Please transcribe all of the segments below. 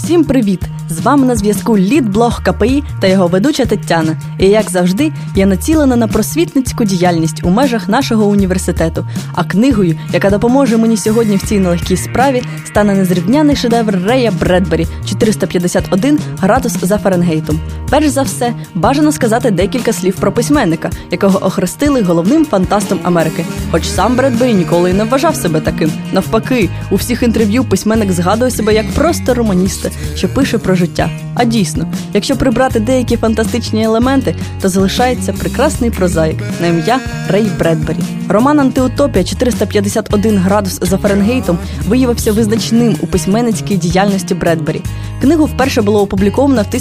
Всім привіт! З вами на зв'язку лідблог КПІ та його ведуча Тетяна. І, як завжди, я націлена на просвітницьку діяльність у межах нашого університету. А книгою, яка допоможе мені сьогодні в цій нелегкій справі, стане незрівняний шедевр Рея Бредбері «451 градус за Фаренгейтом». Перш за все, бажано сказати декілька слів про письменника, якого охрестили головним фантастом Америки. Хоч сам Бредбері ніколи й не вважав себе таким. Навпаки, у всіх інтерв'ю письменник згадує себе як просто романіста, що пише про життя. А дійсно, якщо прибрати деякі фантастичні елементи, то залишається прекрасний прозаїк на ім'я Рей Бредбері. Роман «Антиутопія 451 градус за Фаренгейтом» виявився визначним у письменницькій діяльності Бредбері. Книгу вперше було опубліковано в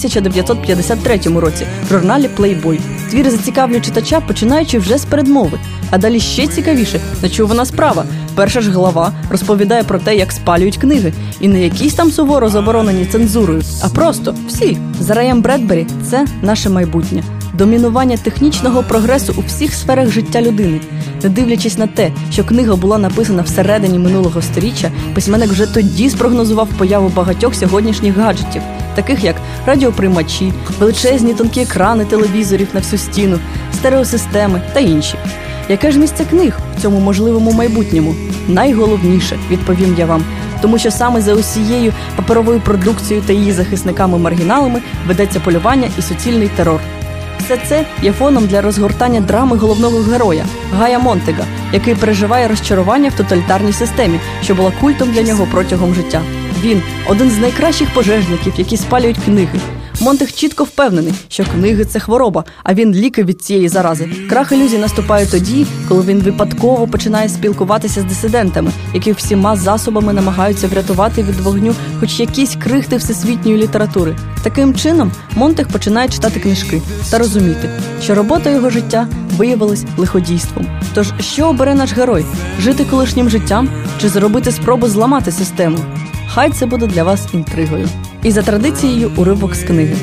1953 році в журналі Playboy. Твір зацікавлює читача, починаючи вже з передмови. А далі ще цікавіше – нечувана справа. Перша ж глава розповідає про те, як спалюють книги. І не якісь там суворо заборонені цензурою, а просто всі. За Реєм Бредбері це наше майбутнє. Домінування технічного прогресу у всіх сферах життя людини. Не дивлячись на те, що книга була написана всередині минулого сторіччя, письменник вже тоді спрогнозував появу багатьох сьогоднішніх гаджетів, таких як радіоприймачі, величезні тонкі екрани телевізорів на всю стіну, стереосистеми та інші. Яке ж місце книг в цьому можливому майбутньому? Найголовніше, відповім я вам, тому що саме за усією паперовою продукцією та її захисниками-маргіналами ведеться полювання і суцільний терор. Все це є фоном для розгортання драми головного героя – Гая Монтега, який переживає розчарування в тоталітарній системі, що була культом для нього протягом життя. Він – один з найкращих пожежників, які спалюють книги. Монтег чітко впевнений, що книги – це хвороба, а він – ліки від цієї зарази. Крах ілюзій наступає тоді, коли він випадково починає спілкуватися з дисидентами, які всіма засобами намагаються врятувати від вогню хоч якісь крихти всесвітньої літератури. Таким чином, Монтег починає читати книжки та розуміти, що робота його життя виявилась лиходійством. Тож, що обере наш герой? Жити колишнім життям чи зробити спробу зламати систему? Хай це буде для вас інтригою. І за традицією уривок з книги.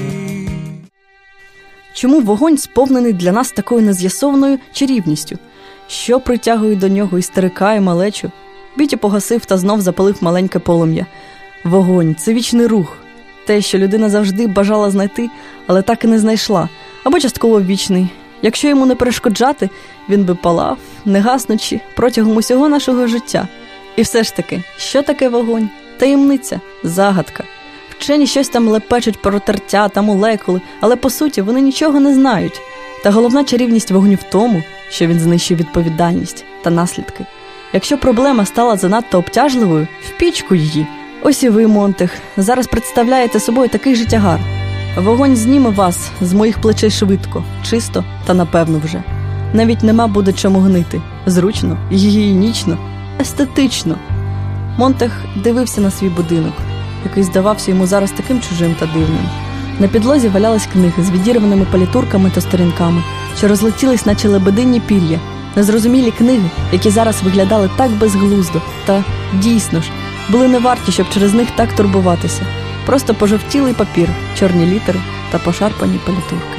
Чому вогонь сповнений для нас такою нез'ясованою чарівністю? Що притягує до нього і старика, і малечу? Біті погасив та знов запалив маленьке полум'я. Вогонь – це вічний рух. Те, що людина завжди бажала знайти, але так і не знайшла. Або частково вічний. Якщо йому не перешкоджати, він би палав, не гаснучи, протягом усього нашого життя. І все ж таки, що таке вогонь? Таємниця, загадка. Вчені щось там лепечуть про тертя та молекули, але по суті вони нічого не знають. Та головна чарівність вогню в тому, що він знищує відповідальність та наслідки. Якщо проблема стала занадто обтяжливою, в пічку її. Ось і ви, Монтег, зараз представляєте собою такий же тягар. Вогонь зніме вас з моїх плечей швидко, чисто та напевно вже. Навіть нема буде чому гнити. Зручно, гігієнічно, естетично. Монтег дивився на свій будинок, який здавався йому зараз таким чужим та дивним. На підлозі валялись книги з відірваними палітурками та сторінками, що розлетілись, наче лебедині пір'я. Незрозумілі книги, які зараз виглядали так безглуздо та, дійсно ж, були не варті, щоб через них так турбуватися. Просто пожовтілий папір, чорні літери та пошарпані палітурки.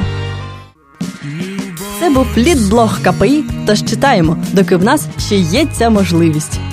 Це був лідблог КПІ, тож читаємо, доки в нас ще є ця можливість.